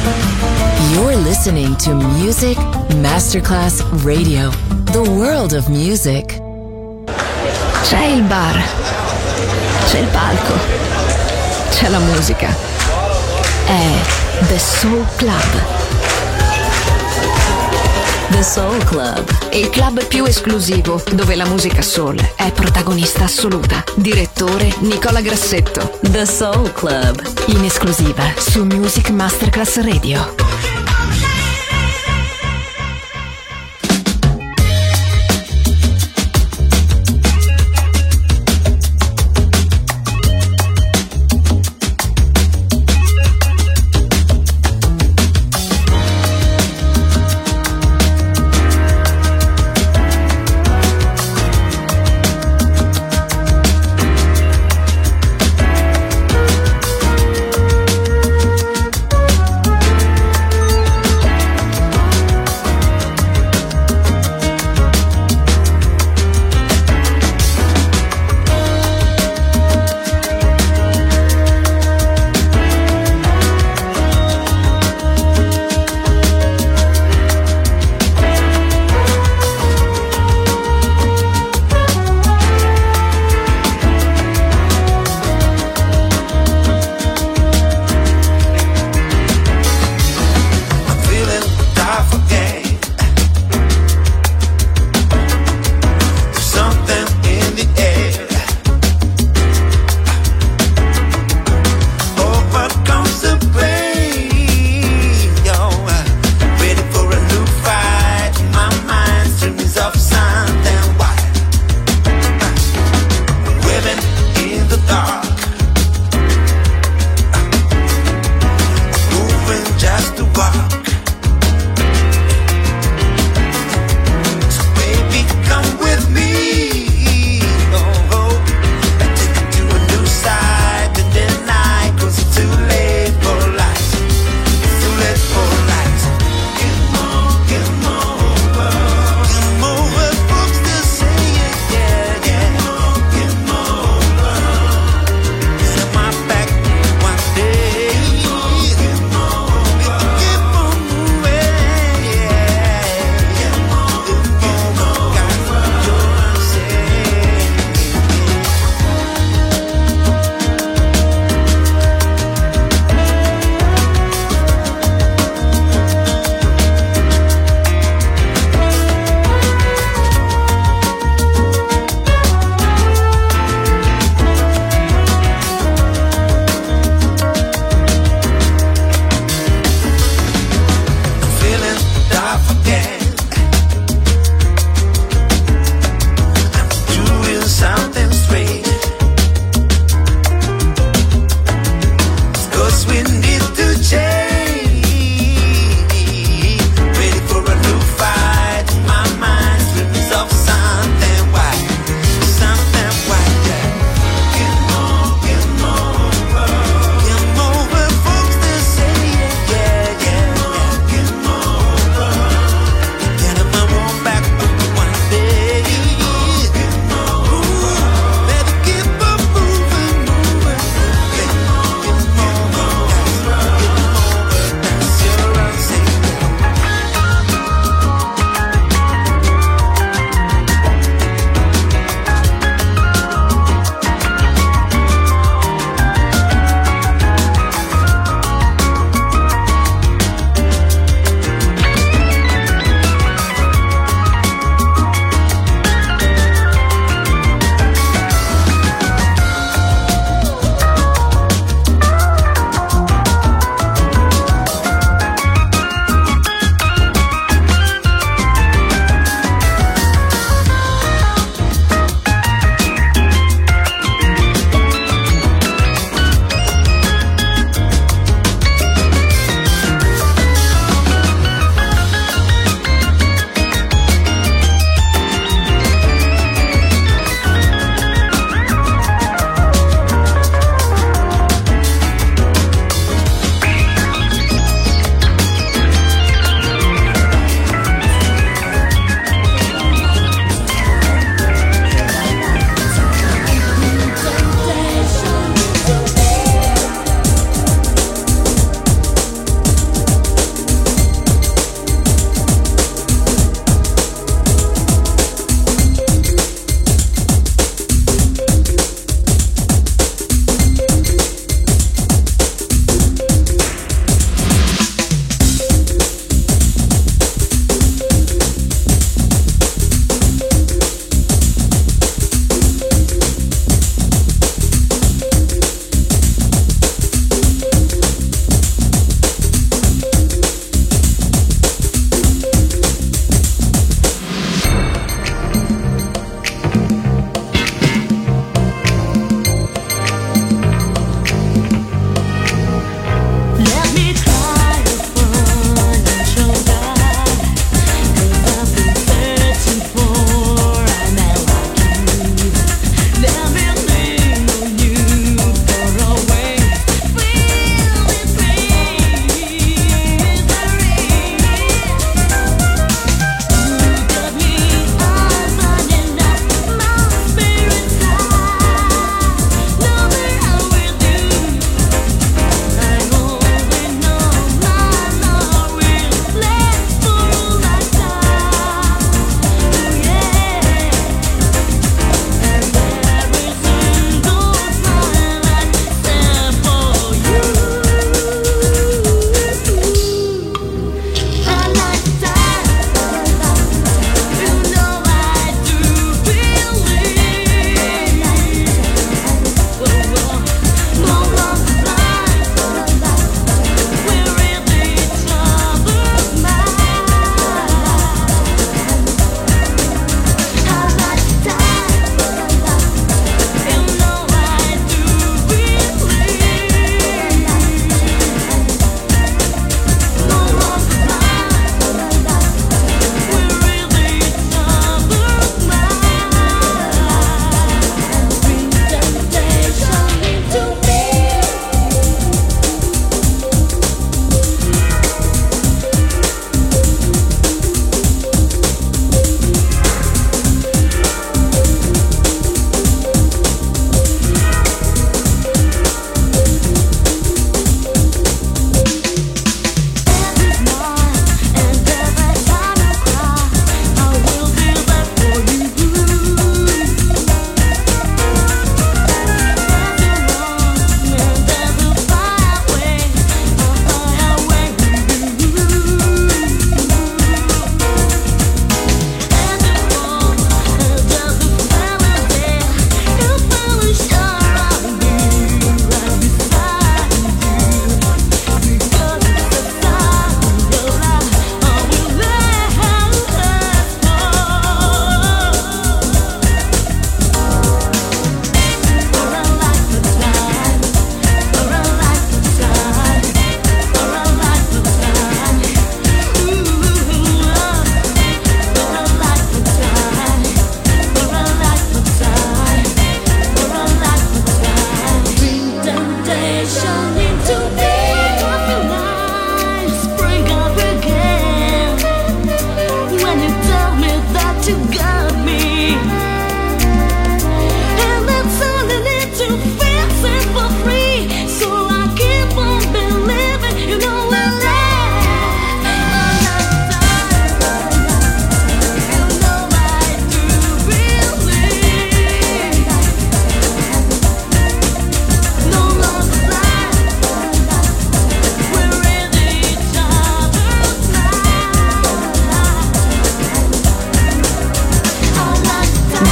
You're listening to Music Masterclass Radio, the world of music. C'è il bar, c'è il palco, c'è la musica. È The Soul Club. The Soul Club, Il club più esclusivo dove la musica soul è protagonista assoluta. Direttore Nicola Grassetto. The Soul Club, In esclusiva su Music Masterclass Radio.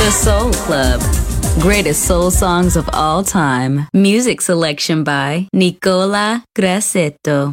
The Soul Club. Greatest soul songs of all time. Music selection by Nicola Grassetto.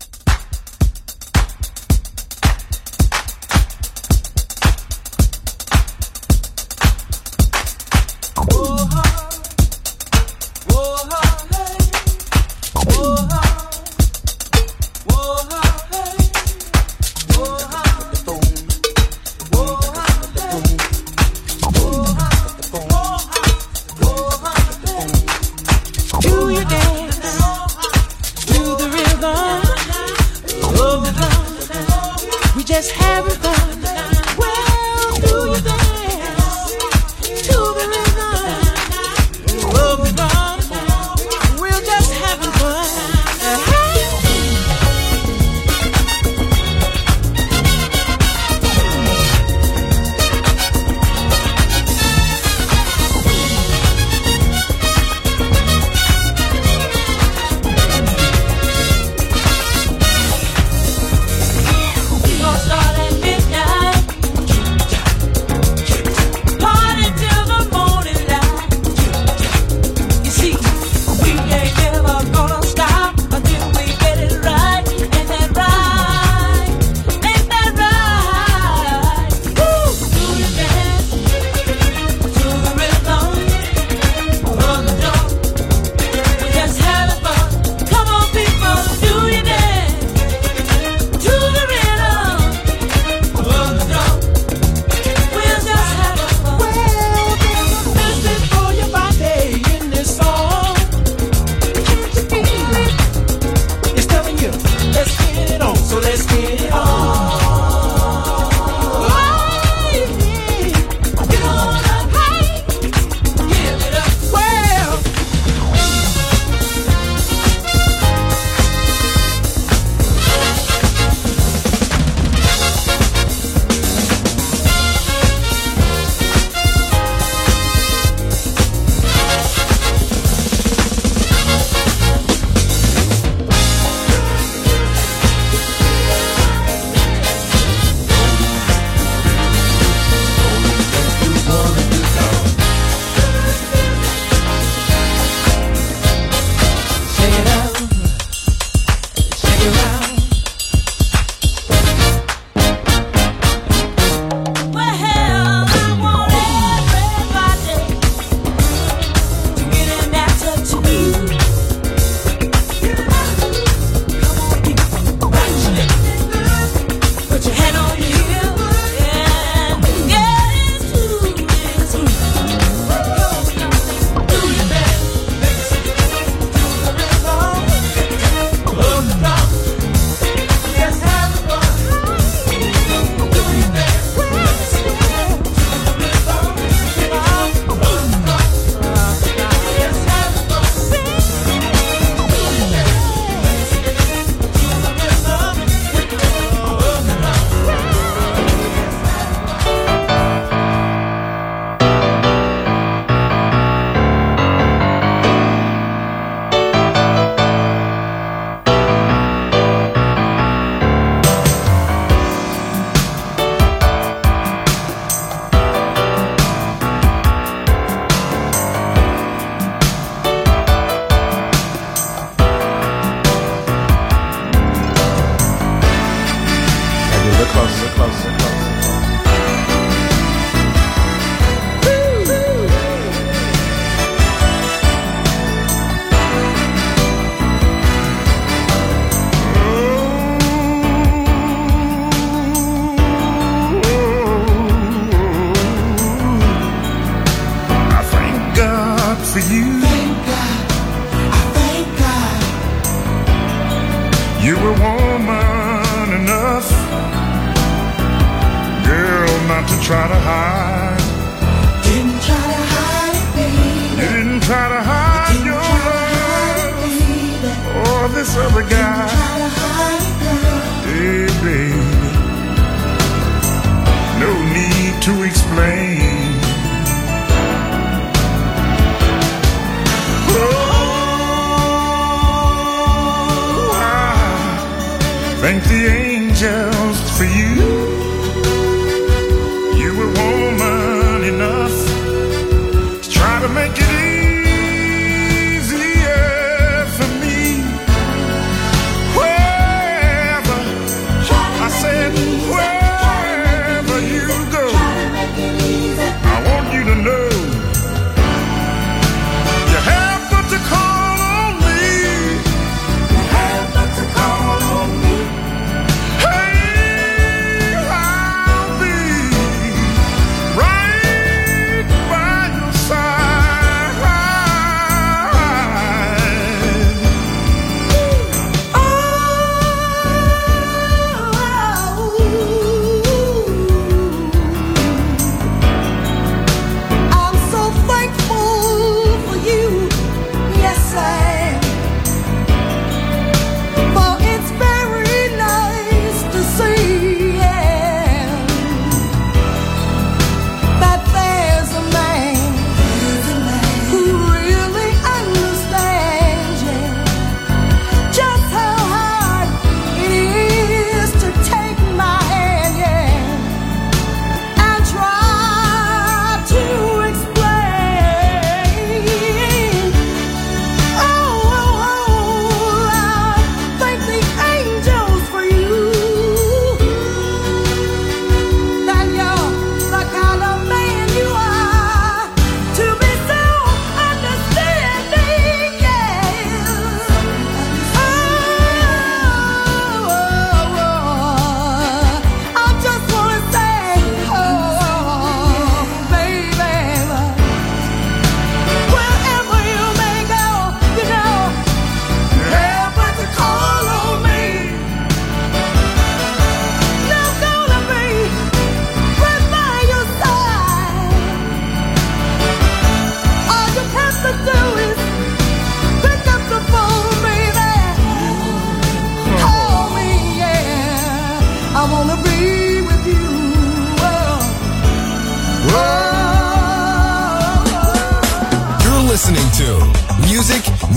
Thank the angels for you. You were woman enough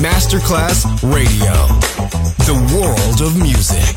Masterclass Radio. The world of music.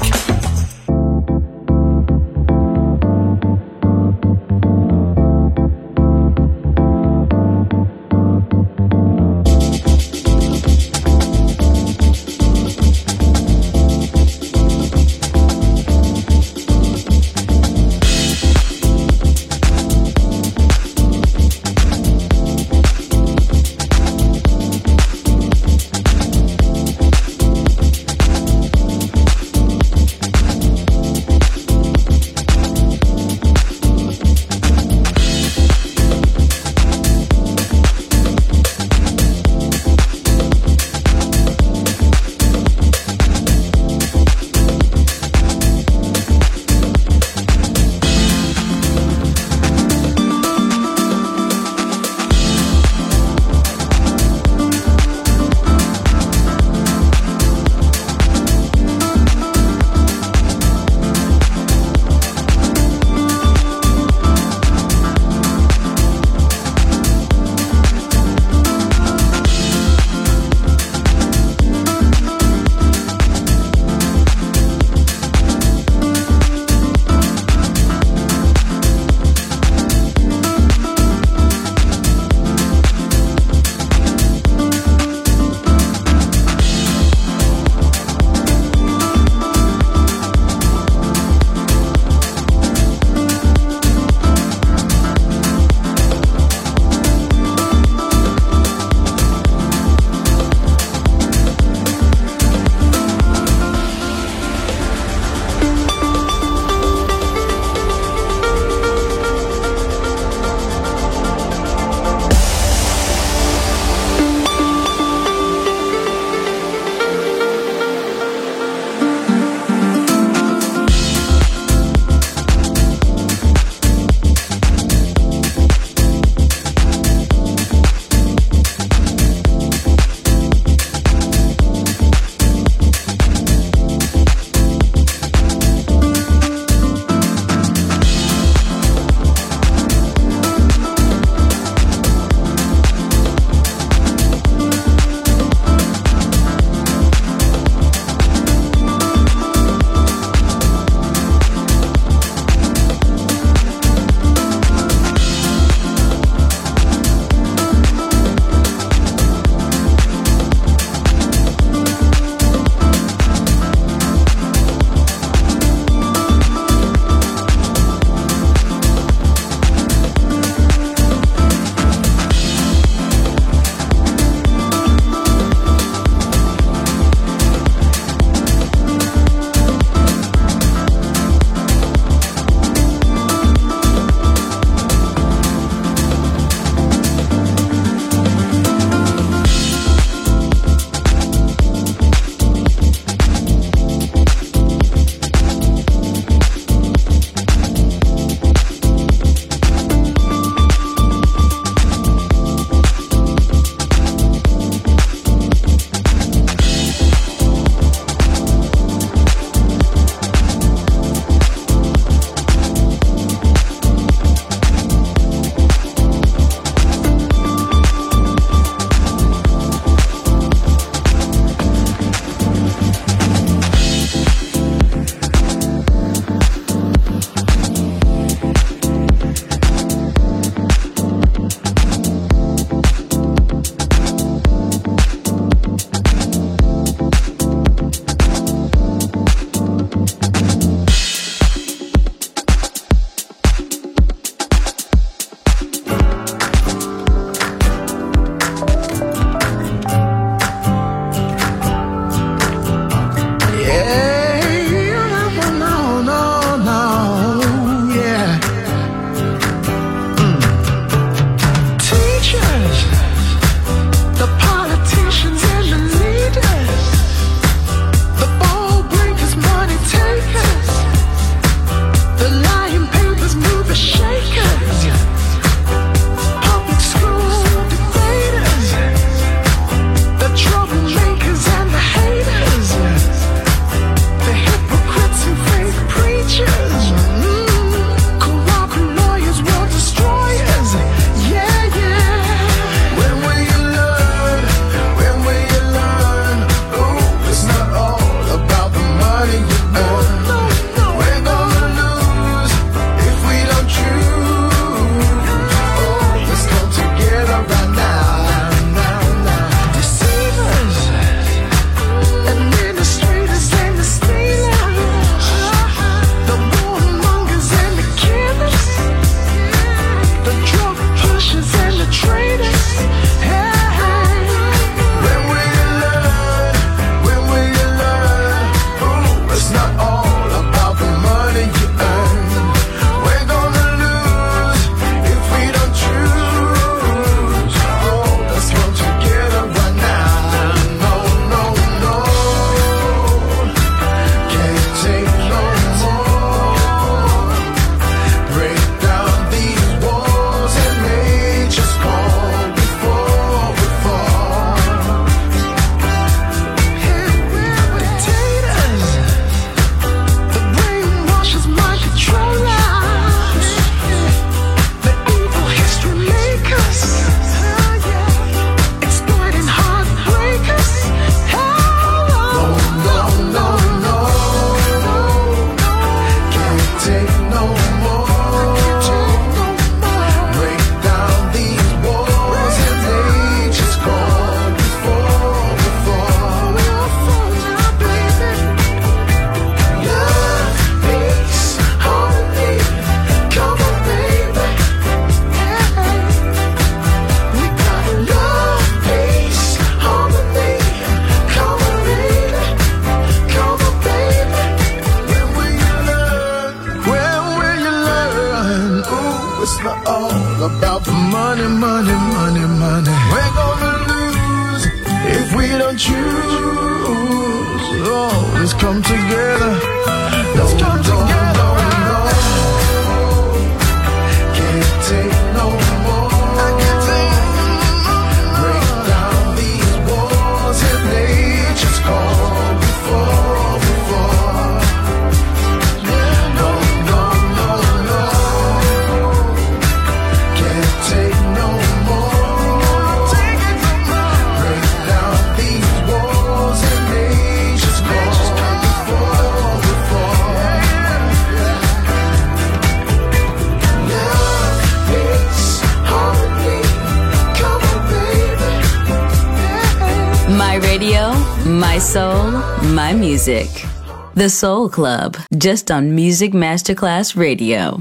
My soul, my music. The Soul Club, just on Music Masterclass Radio.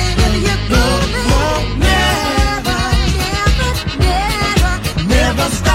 Never stop.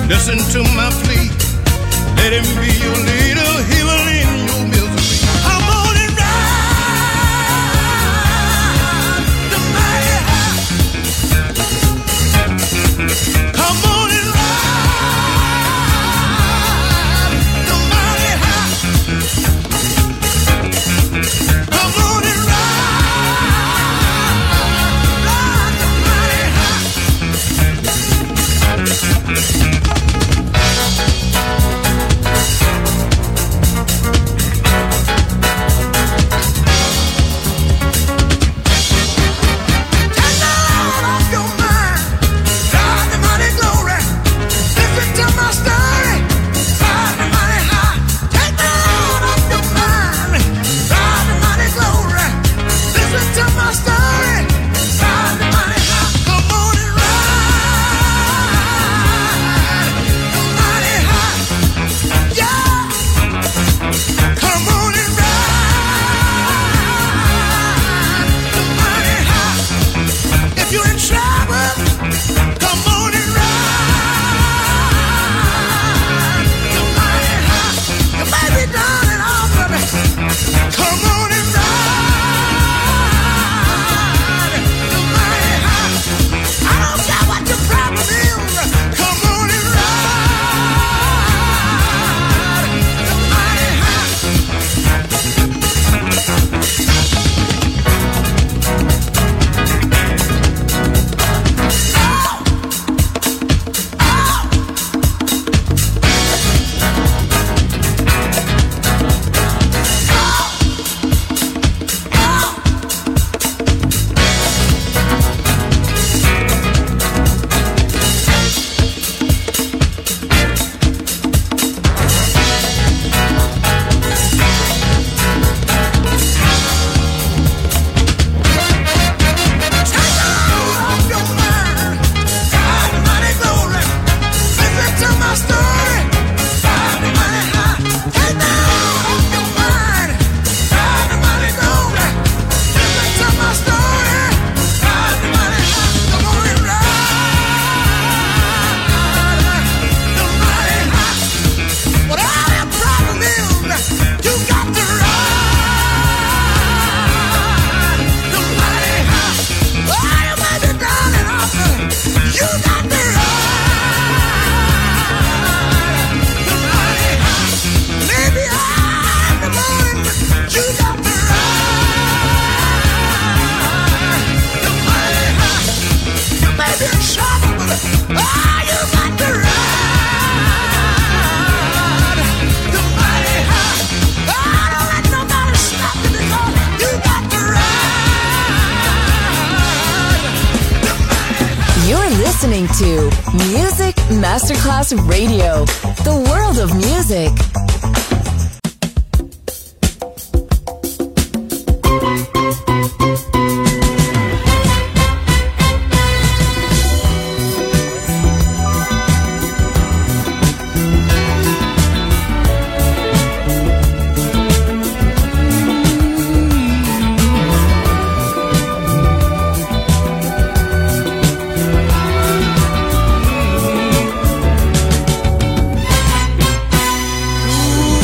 Listen to my plea. Let him be your leader. He will end your misery. Come on and ride the mighty high. Come on and ride the mighty high. Come on and ride the mighty high. Listening to Music Masterclass Radio, the world of music. Ooh.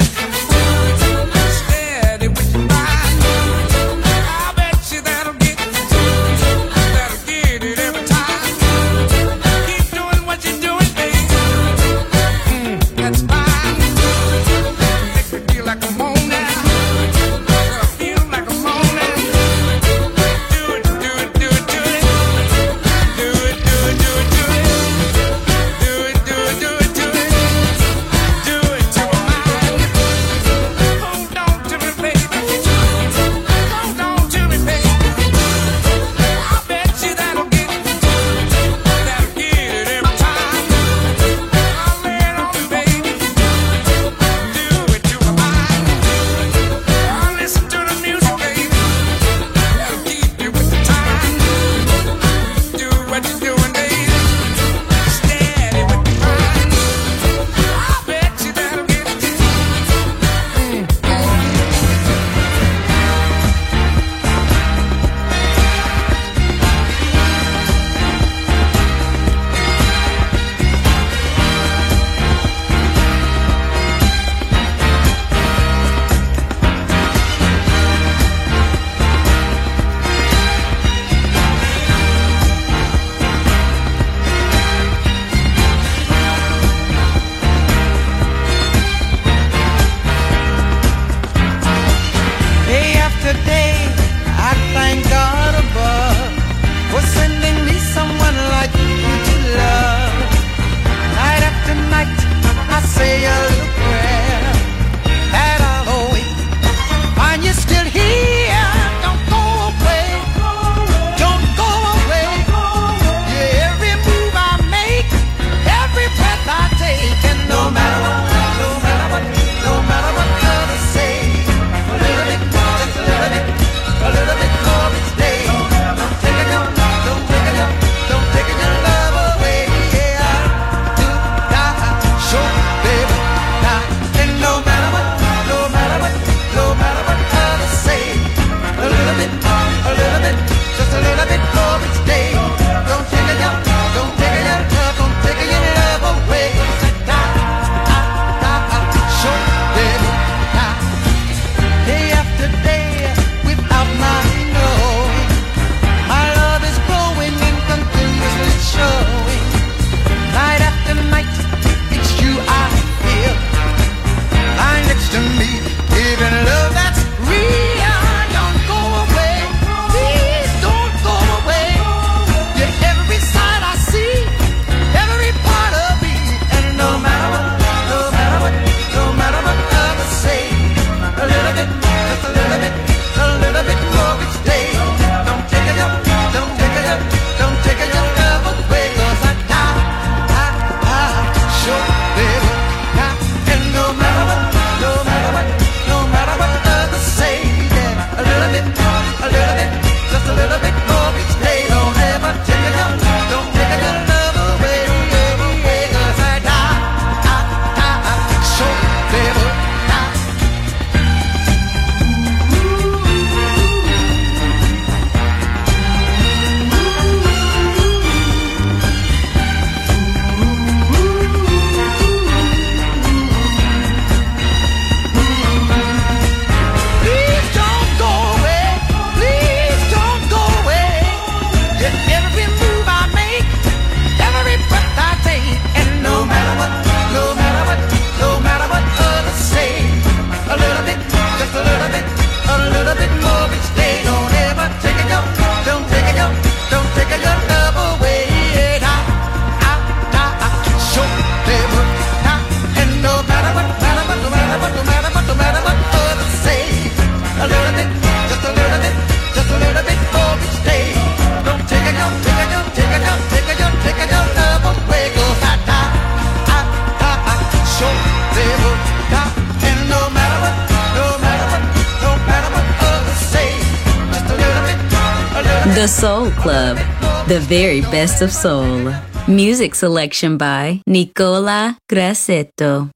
The Soul Club, the very best of soul. Music selection by Nicola Grassetto.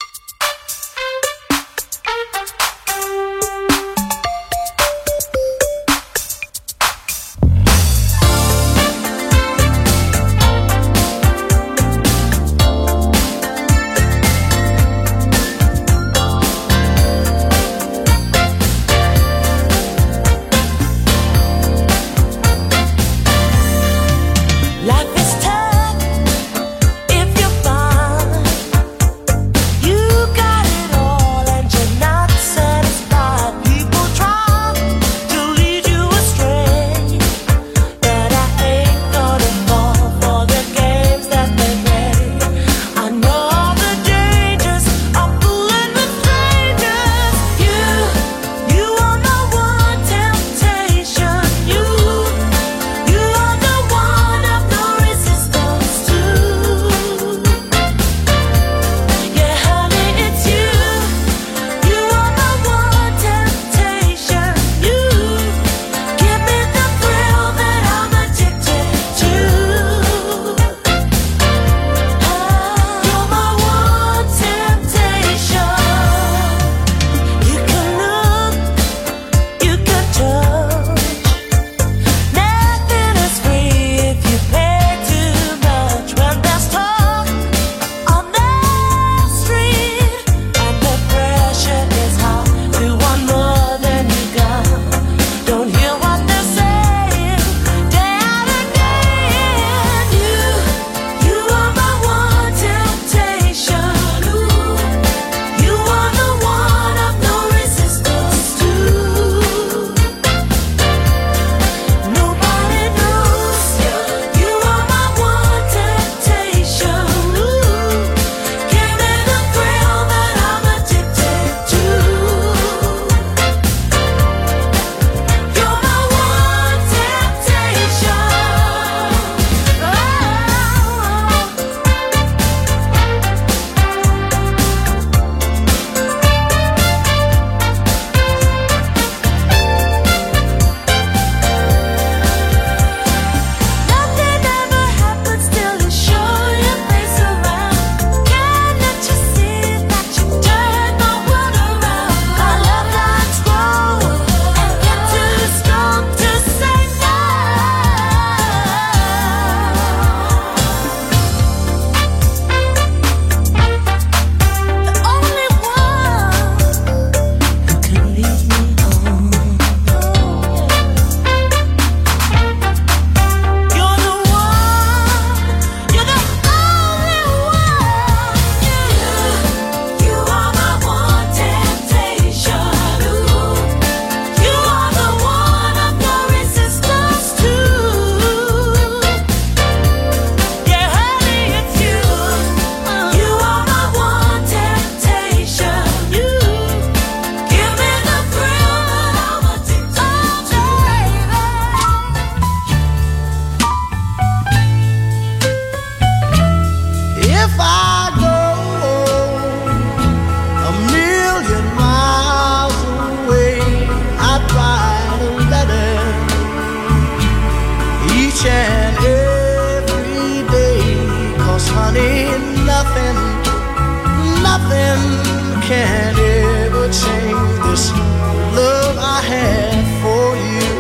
can't ever change this love I have for you.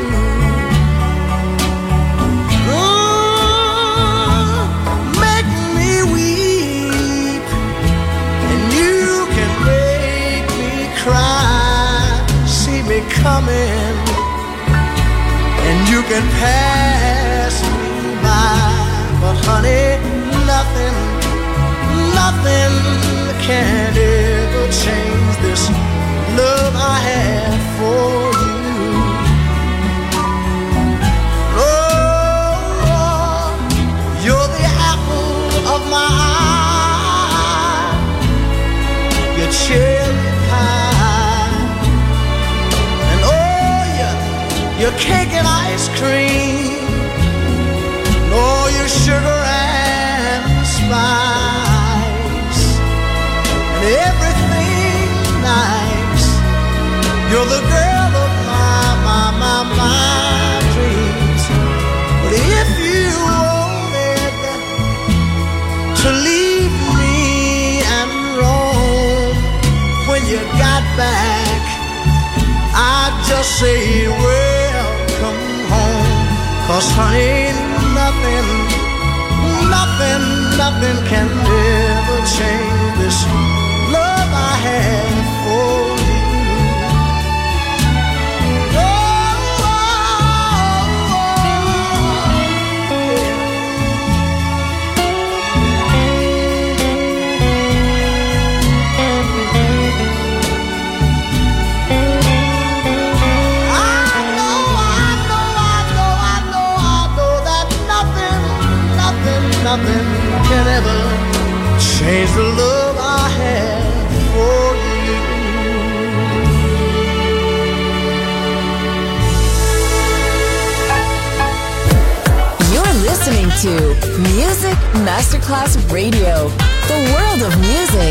Make me weep, and you can make me cry. See me coming, and you can pass me by. But honey, nothing can ever change this love I have for you. Oh, you're the apple of my eye, your cherry pie, and oh, your cake and ice cream, and all your sugar and spice, and everything nice. You're the girl of my dreams. But if you wanted to leave me and roam, when you got back, I'd just say welcome home. 'Cause honey, nothing can ever change this love I have for you. Nothing can ever change the love I have for you. You're listening to Music Masterclass Radio, the world of music.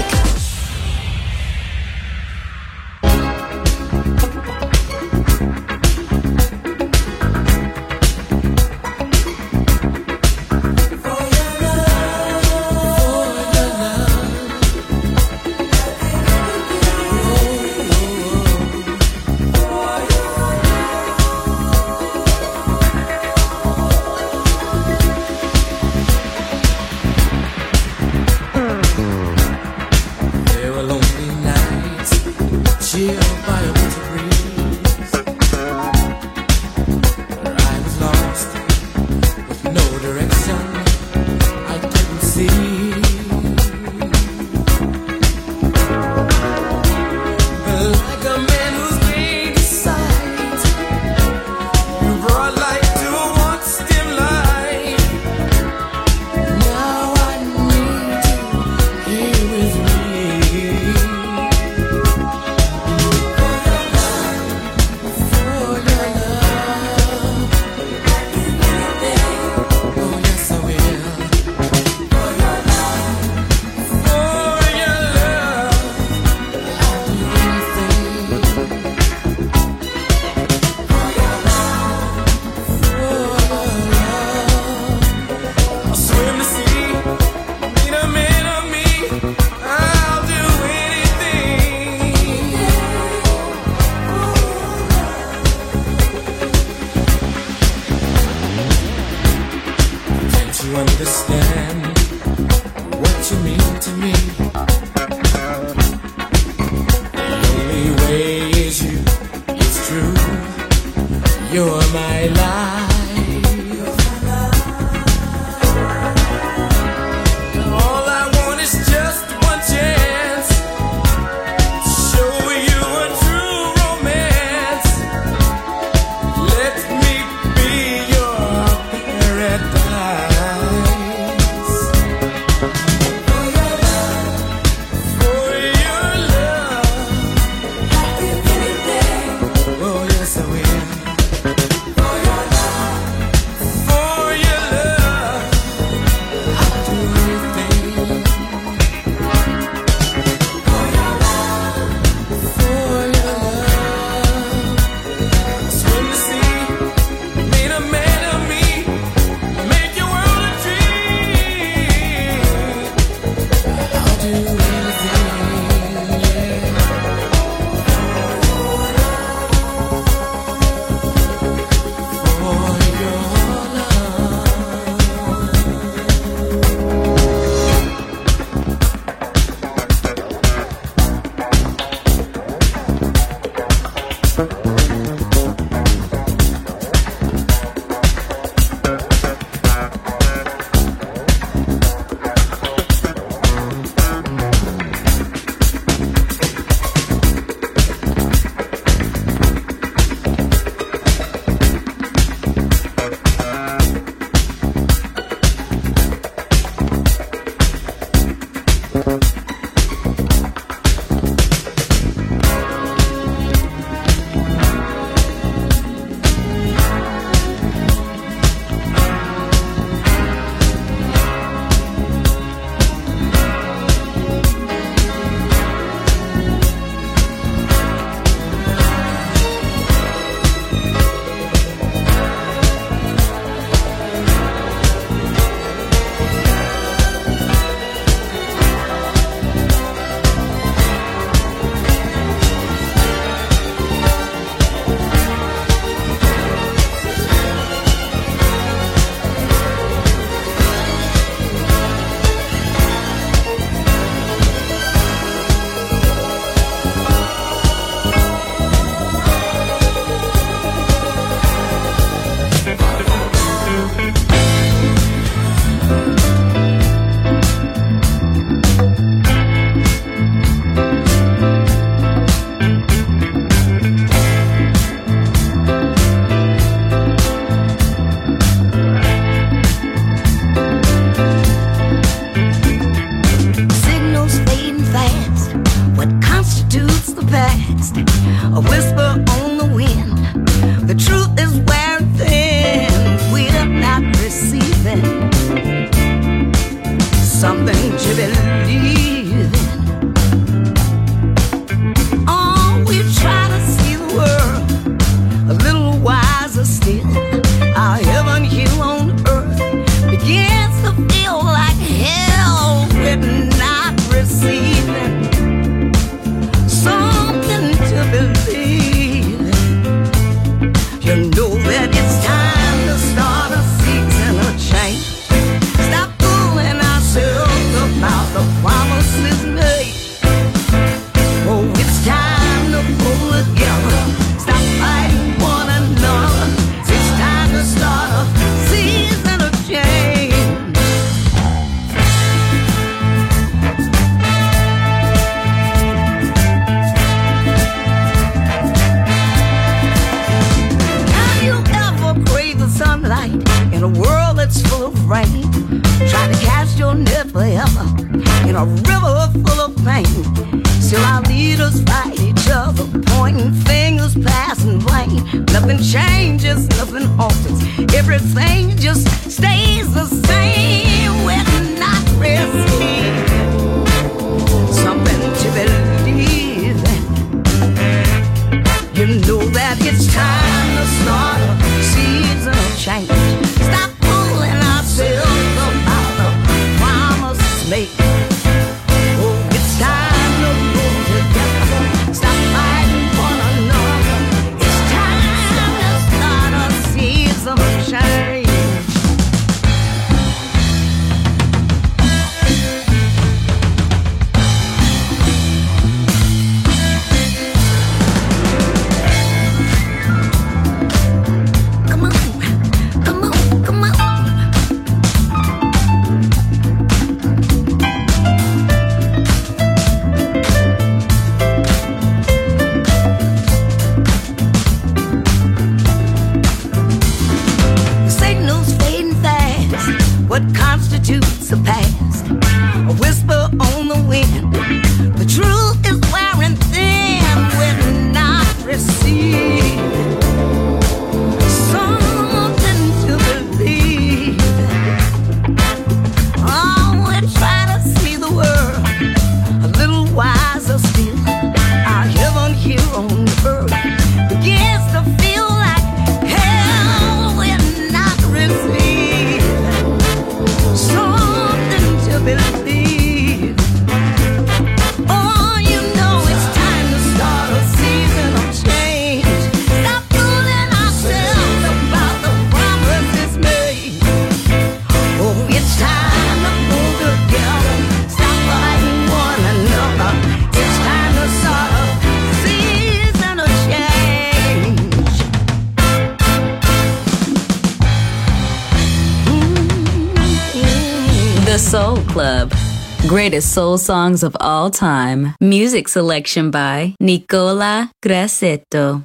The Soul Club. Greatest soul songs of all time. Music selection by Nicola Grassetto.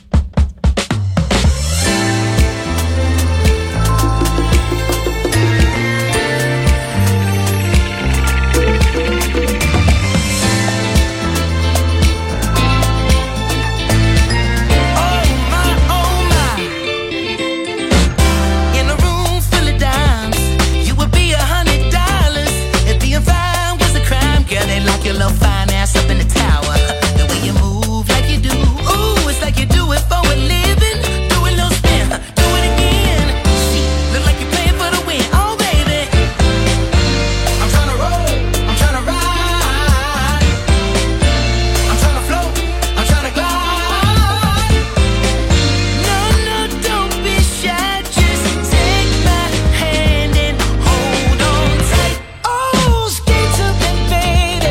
Fine ass up in the tower. The way you move like you do. Ooh, it's like you do it for a living. Do a little spin, do it again. See, look like you're playing for the win. Oh, baby, I'm tryna roll, I'm tryna ride, I'm tryna float, I'm tryna glide. No, no, don't be shy. Just take my hand and hold on tight. Oh, skate to me, baby.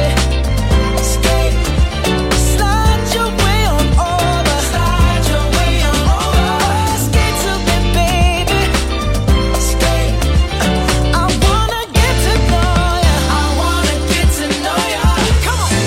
Slide your way on over. Slide your way on over. Skate to me, baby. Skate. I wanna get to know ya. I wanna get to know ya. Come on.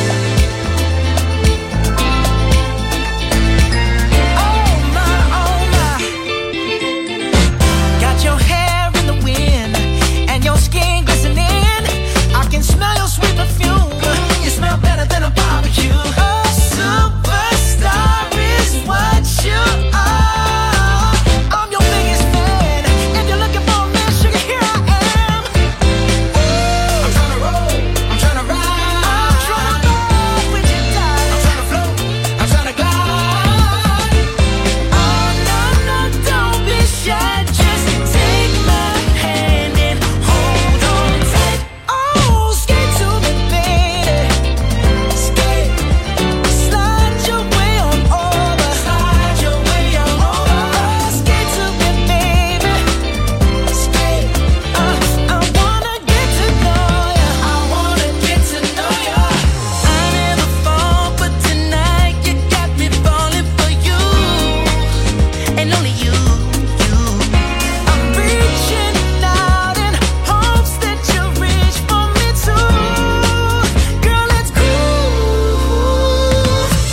Oh my, oh my. Got your hair in the wind and your skin glistening. I can smell your sweet perfume. You smell better than a barbecue. A superstar is what you are. I'm your biggest fan. If you're looking for a man, sugar, here I am. I'm tryna roll, I'm tryna ride, I'm tryna roll with you, darling. I'm tryna float, I'm tryna glide. Oh no, no, don't be shy. Just take my hand and hold on tight. Oh, skate to me, baby. Skate. Slide your way on over. Slide your way on over. Skate to me, baby. Skate. I wanna get to know ya. I wanna get to know ya. I never fall, but tonight you got me falling for you. And only you. I'm reaching out in hopes that you reach for me too. Girl, let's groove.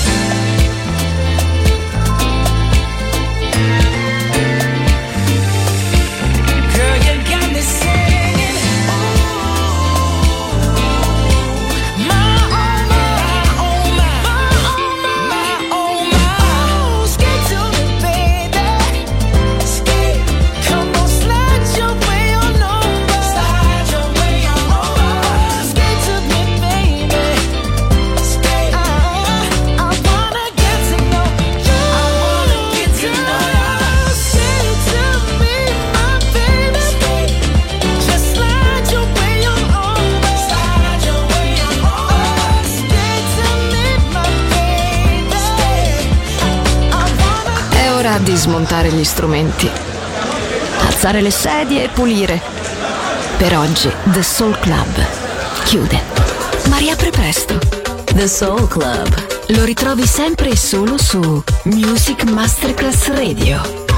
Girl, you got me singing. My oh my, my oh my. Skate to me, baby. Skate. Come on, slide your way on over. Slide your way on over. Skate to me, baby. Skate. I wanna get to know you. I wanna get to know you. Skate to me, my baby. Skate. Just slide your way on over. Slide your way on over. Skate to me, my baby. I wanna. È ora di smontare gli strumenti, alzare le sedie e pulire. Per oggi The Soul Club chiude, ma riapre presto. The Soul Club. Lo ritrovi sempre e solo su Music Masterclass Radio.